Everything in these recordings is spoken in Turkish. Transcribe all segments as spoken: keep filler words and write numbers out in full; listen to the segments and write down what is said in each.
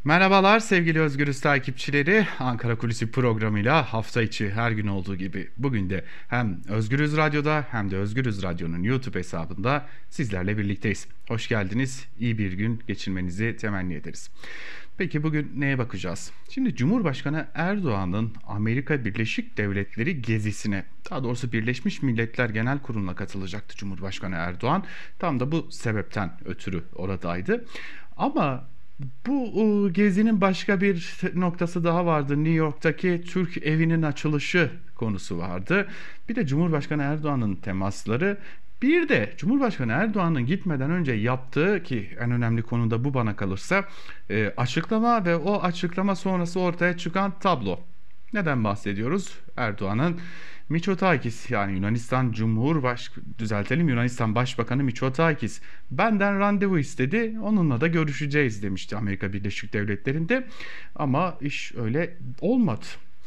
Merhabalar sevgili Özgürüz takipçileri. Ankara Kulisi programıyla hafta içi her gün olduğu gibi bugün de hem Özgürüz Radyo'da hem de Özgürüz Radyo'nun YouTube hesabında sizlerle birlikteyiz. Hoş geldiniz. İyi bir gün geçirmenizi temenni ederiz. Peki bugün neye bakacağız? Şimdi Cumhurbaşkanı Erdoğan'ın Amerika Birleşik Devletleri gezisine, daha doğrusu Birleşmiş Milletler Genel Kurulu'na katılacaktı Cumhurbaşkanı Erdoğan. Tam da bu sebepten ötürü oradaydı. Ama bu ıı, gezinin başka bir noktası daha vardı. New York'taki Türk evinin açılışı konusu vardı. Bir de Cumhurbaşkanı Erdoğan'ın temasları. Bir de Cumhurbaşkanı Erdoğan'ın gitmeden önce yaptığı, ki en önemli konu da bu bana kalırsa, e, açıklama ve o açıklama sonrası ortaya çıkan tablo. Neden bahsediyoruz? Erdoğan'ın Mitsotakis, yani Yunanistan Cumhurbaş düzeltelim Yunanistan Başbakanı Mitsotakis benden randevu istedi. Onunla da görüşeceğiz demişti Amerika Birleşik Devletleri'nde. Ama iş öyle olmadı.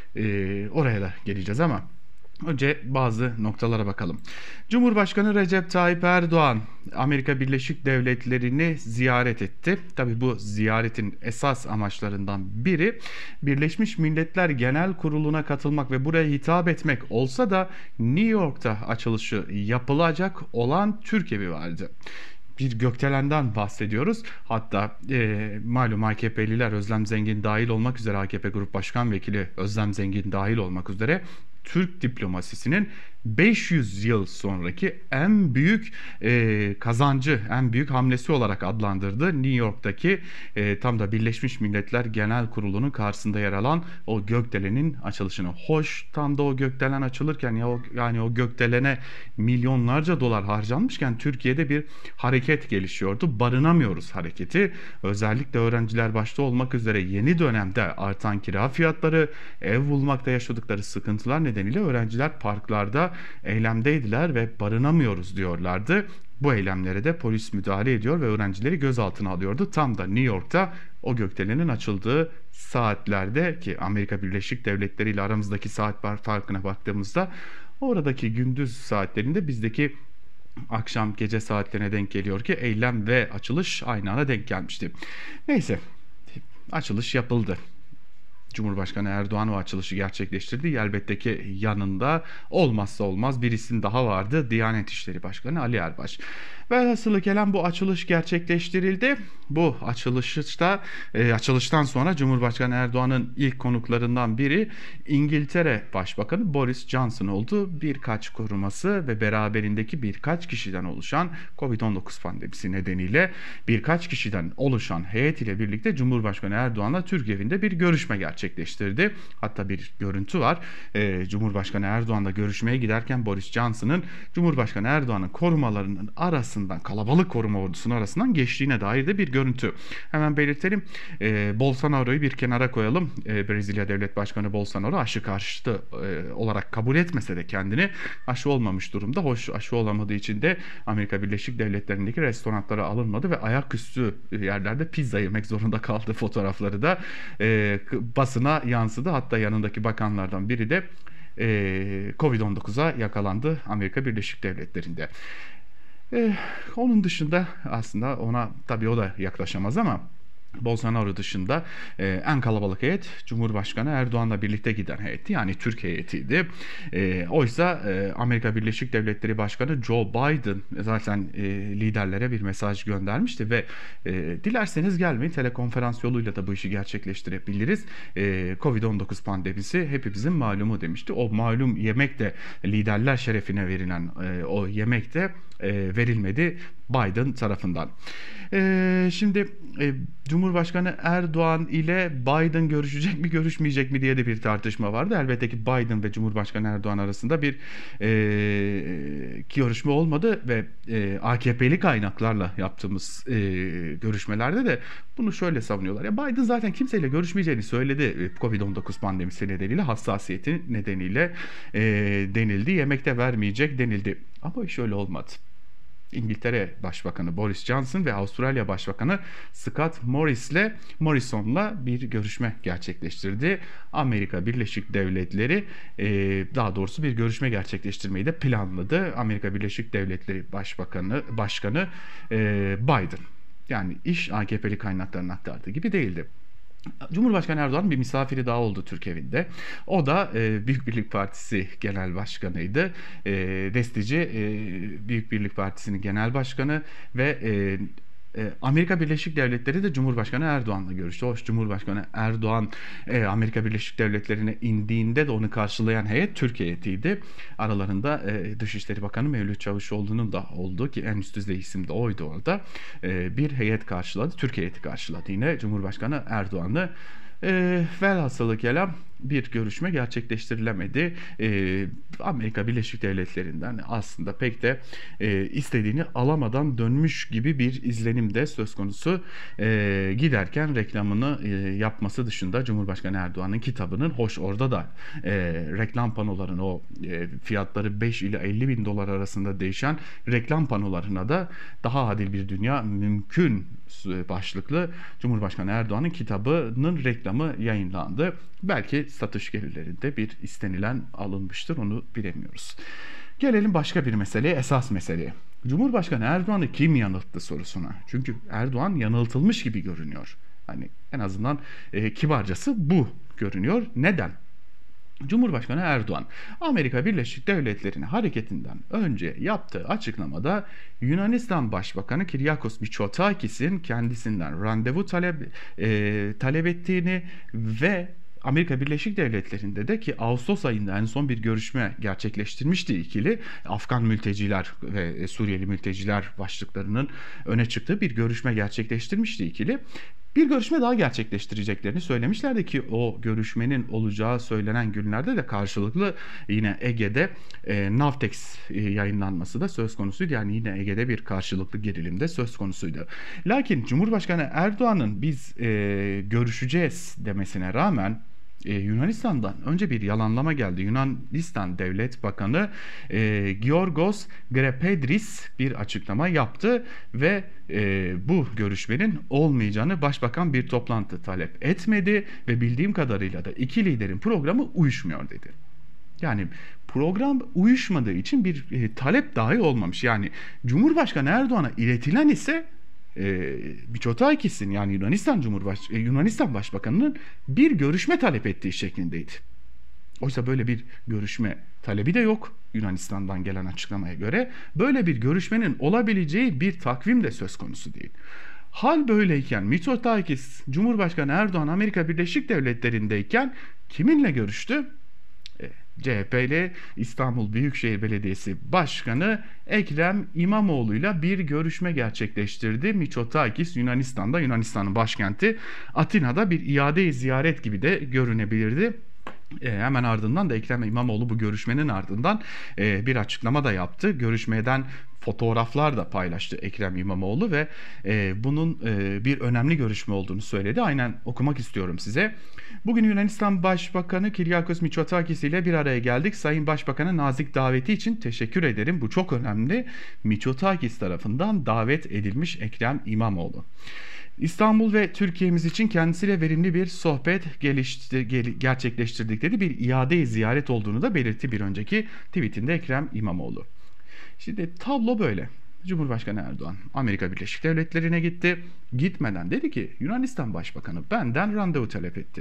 Ee, oraya da geleceğiz ama önce bazı noktalara bakalım. Cumhurbaşkanı Recep Tayyip Erdoğan Amerika Birleşik Devletleri'ni ziyaret etti. Tabii bu ziyaretin esas amaçlarından biri Birleşmiş Milletler Genel Kurulu'na katılmak ve buraya hitap etmek olsa da New York'ta açılışı yapılacak olan Türk evi vardı. Bir gökdelenden bahsediyoruz. Hatta e, malum A K P'liler Özlem Zengin dahil olmak üzere, A K P Grup Başkan Vekili Özlem Zengin dahil olmak üzere Türk diplomasisinin beş yüz yıl sonraki en büyük e, kazancı, en büyük hamlesi olarak adlandırdı. New York'taki e, tam da Birleşmiş Milletler Genel Kurulu'nun karşısında yer alan o gökdelenin açılışını. Hoş, tam da o gökdelen açılırken ya o, yani o gökdelene milyonlarca dolar harcanmışken Türkiye'de bir hareket gelişiyordu. Barınamıyoruz hareketi. Özellikle öğrenciler başta olmak üzere yeni dönemde artan kira fiyatları, ev bulmakta yaşadıkları sıkıntılar nedeniyle öğrenciler parklarda eylemdeydiler ve barınamıyoruz diyorlardı. Bu eylemlere de polis müdahale ediyor ve öğrencileri gözaltına alıyordu. Tam da New York'ta o gökdelenin açıldığı saatlerde, ki Amerika Birleşik Devletleri ile aramızdaki saat farkına baktığımızda oradaki gündüz saatlerinde bizdeki akşam gece saatlerine denk geliyor ki eylem ve açılış aynı ana denk gelmişti. Neyse, açılış yapıldı. Cumhurbaşkanı Erdoğan o açılışı gerçekleştirdi. Elbette ki yanında olmazsa olmaz bir isim daha vardı. Diyanet İşleri Başkanı Ali Erbaş. Velhasılı kelam bu açılış gerçekleştirildi. Bu açılışta e, açılıştan sonra Cumhurbaşkanı Erdoğan'ın ilk konuklarından biri İngiltere Başbakanı Boris Johnson oldu. Birkaç koruması ve beraberindeki birkaç kişiden oluşan Covid on dokuz pandemisi nedeniyle birkaç kişiden oluşan heyet ile birlikte Cumhurbaşkanı Erdoğan'la Türk evinde bir görüşme gerçekleştirdi. Hatta bir görüntü var. E, Cumhurbaşkanı Erdoğan'la görüşmeye giderken Boris Johnson'ın Cumhurbaşkanı Erdoğan'ın korumalarının arasından, kalabalık koruma ordusunun arasından geçtiğine dair de bir görüntü. Hemen belirtelim. E, Bolsonaro'yu bir kenara koyalım. E, Brezilya Devlet Başkanı Bolsonaro aşı karşıtı e, olarak kabul etmese de kendini aşı olmamış durumda. Hoş, aşı olamadığı için de Amerika Birleşik Devletleri'ndeki restoranlara alınmadı ve ayaküstü yerlerde pizza yemek zorunda kaldı. Fotoğrafları da e, basına yansıdı. Hatta yanındaki bakanlardan biri de e, Covid on dokuza yakalandı Amerika Birleşik Devletleri'nde. E, onun dışında aslında ona tabii o da yaklaşamaz ama Bolsonaro dışında e, en kalabalık heyet Cumhurbaşkanı Erdoğan'la birlikte giden heyetti. Yani Türk heyetiydi. E, oysa e, Amerika Birleşik Devletleri Başkanı Joe Biden zaten e, liderlere bir mesaj göndermişti ve e, dilerseniz gelmeyin, telekonferans yoluyla da bu işi gerçekleştirebiliriz. E, Covid on dokuz pandemisi hepimizin malumu demişti. O malum yemek de, liderler şerefine verilen e, o yemek de e, verilmedi Biden tarafından. E, şimdi e, Cumhurbaşkanı Erdoğan ile Biden görüşecek mi görüşmeyecek mi diye de bir tartışma vardı. Elbette ki Biden ve Cumhurbaşkanı Erdoğan arasında bir e, görüşme olmadı ve e, A K P'li kaynaklarla yaptığımız e, görüşmelerde de bunu şöyle savunuyorlar. Ya Biden zaten kimseyle görüşmeyeceğini söyledi. Covid on dokuz pandemisi nedeniyle, hassasiyeti nedeniyle e, denildi. Yemekte vermeyecek denildi. Ama iş öyle olmadı. İngiltere Başbakanı Boris Johnson ve Avustralya Başbakanı Scott Morris'le Morrison'la bir görüşme gerçekleştirdi. Amerika Birleşik Devletleri e, daha doğrusu bir görüşme gerçekleştirmeyi de planladı. Amerika Birleşik Devletleri Başbakanı Başkanı e, Biden. Yani iş A K P'li kaynakların aktardığı gibi değildi. Cumhurbaşkanı Erdoğan'ın bir misafiri daha oldu Türk evinde. O da e, Büyük Birlik Partisi Genel Başkanı'ydı. E, Destici e, Büyük Birlik Partisi'nin Genel Başkanı ve e, e, Amerika Birleşik Devletleri de Cumhurbaşkanı Erdoğan'la görüştü. Hoş Cumhurbaşkanı Erdoğan e, Amerika Birleşik Devletleri'ne indiğinde de onu karşılayan heyet Türk heyetiydi. Aralarında e, Dışişleri Bakanı Mevlüt Çavuşoğlu'nun da olduğu, ki en üst düzey isim de oydu orada. E, bir heyet karşıladı. Türk heyeti karşıladı yine Cumhurbaşkanı Erdoğan'ı. E, velhasılı kelam bir görüşme gerçekleştirilemedi. E, Amerika Birleşik Devletleri'nden aslında pek de e, istediğini alamadan dönmüş gibi bir izlenim de söz konusu. E, giderken reklamını e, yapması dışında Cumhurbaşkanı Erdoğan'ın kitabının, hoş orada da e, reklam panolarının o e, fiyatları beş ile elli bin dolar arasında değişen reklam panolarına da daha adil bir dünya mümkün başlıklı Cumhurbaşkanı Erdoğan'ın kitabının reklamı yayınlandı. Belki satış gelirlerinde bir istenilen alınmıştır, onu bilemiyoruz. Gelelim başka bir meseleye, esas meseleye. Cumhurbaşkanı Erdoğan'ı kim yanılttı sorusuna. Çünkü Erdoğan yanıltılmış gibi görünüyor. Hani en azından e, kibarcası bu görünüyor. Neden? Cumhurbaşkanı Erdoğan, Amerika Birleşik Devletleri'ne hareketinden önce yaptığı açıklamada Yunanistan Başbakanı Kyriakos Mitsotakis'in kendisinden randevu talep, e, talep ettiğini ve Amerika Birleşik Devletleri'nde de, ki Ağustos ayında en son bir görüşme gerçekleştirmişti ikili, Afgan mülteciler ve Suriyeli mülteciler başlıklarının öne çıktığı bir görüşme gerçekleştirmişti ikili. Bir görüşme daha gerçekleştireceklerini söylemişlerdi ki o görüşmenin olacağı söylenen günlerde de karşılıklı yine Ege'de e, Navtex e, yayınlanması da söz konusuydu. Yani yine Ege'de bir karşılıklı gerilim de söz konusuydu. Lakin Cumhurbaşkanı Erdoğan'ın biz e, görüşeceğiz demesine rağmen Ee, Yunanistan'dan önce bir yalanlama geldi. Yunanistan Devlet Bakanı e, Giorgos Grepedris bir açıklama yaptı ve e, bu görüşmenin olmayacağını, başbakan bir toplantı talep etmedi ve bildiğim kadarıyla da iki liderin programı uyuşmuyor dedi. Yani program uyuşmadığı için bir e, talep dahi olmamış. Yani Cumhurbaşkanı Erdoğan'a iletilen ise e, Mitsotakis'in, yani Yunanistan Cumhurbaş e, Yunanistan Başbakanı'nın bir görüşme talep ettiği şeklindeydi. Oysa böyle bir görüşme talebi de yok Yunanistan'dan gelen açıklamaya göre. Böyle bir görüşmenin olabileceği bir takvim de söz konusu değil. Hal böyleyken Mitsotakis, Cumhurbaşkanı Erdoğan Amerika Birleşik Devletleri'ndeyken kiminle görüştü? C H P ile İstanbul Büyükşehir Belediyesi Başkanı Ekrem İmamoğlu'yla bir görüşme gerçekleştirdi. Mitsotakis Yunanistan'da, Yunanistan'ın başkenti Atina'da bir iade-i ziyaret gibi de görünebilirdi. E, hemen ardından da Ekrem İmamoğlu bu görüşmenin ardından e, bir açıklama da yaptı. Görüşmeden fotoğraflar da paylaştı Ekrem İmamoğlu ve e, bunun e, bir önemli görüşme olduğunu söyledi. Aynen okumak istiyorum size. Bugün Yunanistan Başbakanı Kyriakos Mitsotakis ile bir araya geldik. Sayın Başbakan'a nazik daveti için teşekkür ederim. Bu çok önemli. Mitsotakis tarafından davet edilmiş Ekrem İmamoğlu. İstanbul ve Türkiye'miz için kendisiyle verimli bir sohbet gelişti, gel, gerçekleştirdikleri bir iade-i ziyaret olduğunu da belirtti bir önceki tweetinde Ekrem İmamoğlu. Şimdi tablo böyle. Cumhurbaşkanı Erdoğan Amerika Birleşik Devletleri'ne gitti. Gitmeden dedi ki Yunanistan Başbakanı benden randevu talep etti.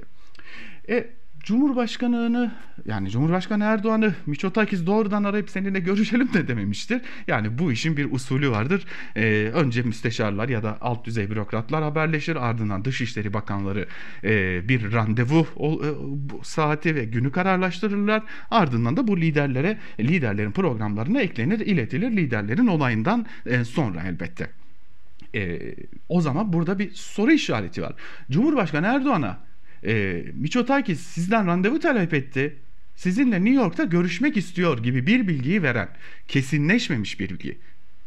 E Cumhurbaşkanını, yani Cumhurbaşkanı Erdoğan'ı Mitsotakis doğrudan arayıp seninle görüşelim de dememiştir. Yani bu işin bir usulü vardır. Ee, önce müsteşarlar ya da alt düzey bürokratlar haberleşir. Ardından Dışişleri Bakanları e, bir randevu o, e, bu saati ve günü kararlaştırırlar. Ardından da bu liderlere, liderlerin programlarına eklenir, iletilir liderlerin olayından e, sonra elbette. E, o zaman burada bir soru işareti var. Cumhurbaşkanı Erdoğan'a E, Mitsotakis sizden randevu talep etti, sizinle New York'ta görüşmek istiyor gibi bir bilgiyi veren, kesinleşmemiş bir bilgi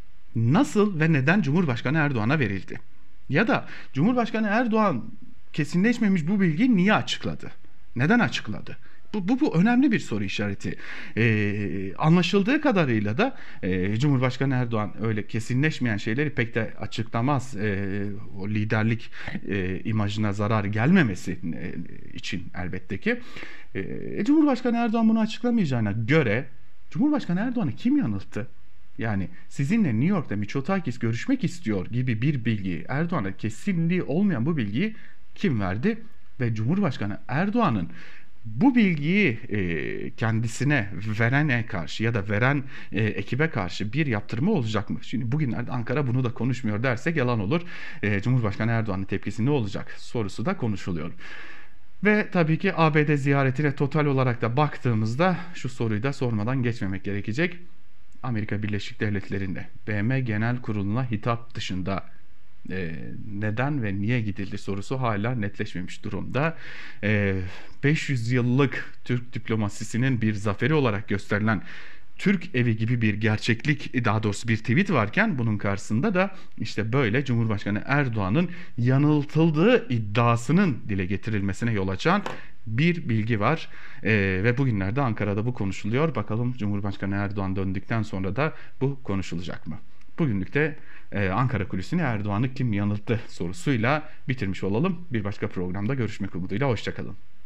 nasıl ve neden Cumhurbaşkanı Erdoğan'a verildi? Ya da Cumhurbaşkanı Erdoğan kesinleşmemiş bu bilgiyi niye açıkladı? Neden açıkladı? Bu, bu, bu önemli bir soru işareti. Ee, anlaşıldığı kadarıyla da e, Cumhurbaşkanı Erdoğan öyle kesinleşmeyen şeyleri pek de açıklamaz. E, o liderlik e, imajına zarar gelmemesi e, için elbette ki. E, Cumhurbaşkanı Erdoğan bunu açıklamayacağına göre Cumhurbaşkanı Erdoğan'ı kim yanılttı? Yani sizinle New York'ta Mitsotakis görüşmek istiyor gibi bir bilgi, Erdoğan'a kesinliği olmayan bu bilgiyi kim verdi? ve Cumhurbaşkanı Erdoğan'ın bu bilgiyi e, kendisine verene karşı ya da veren e, ekibe karşı bir yaptırımı olacak mı? Şimdi bugünlerde Ankara bunu da konuşmuyor dersek yalan olur. E, Cumhurbaşkanı Erdoğan'ın tepkisi ne olacak sorusu da konuşuluyor. Ve tabii ki A B D ziyaretine total olarak da baktığımızda şu soruyu da sormadan geçmemek gerekecek. Amerika Birleşik Devletleri'nde B M Genel Kurulu'na hitap dışında e, neden ve niye gidildi sorusu hala netleşmemiş durumda. E, beş yüz yıllık Türk diplomasisinin bir zaferi olarak gösterilen Türk evi gibi bir gerçeklik, daha doğrusu bir tweet varken bunun karşısında da işte böyle Cumhurbaşkanı Erdoğan'ın yanıltıldığı iddiasının dile getirilmesine yol açan bir bilgi var. Ee, ve bugünlerde Ankara'da bu konuşuluyor. Bakalım Cumhurbaşkanı Erdoğan döndükten sonra da bu konuşulacak mı? Bugünlük de e, Ankara Kulisi'ni Erdoğan'ı kim yanılttı sorusuyla bitirmiş olalım. Bir başka programda görüşmek umuduyla. Hoşçakalın.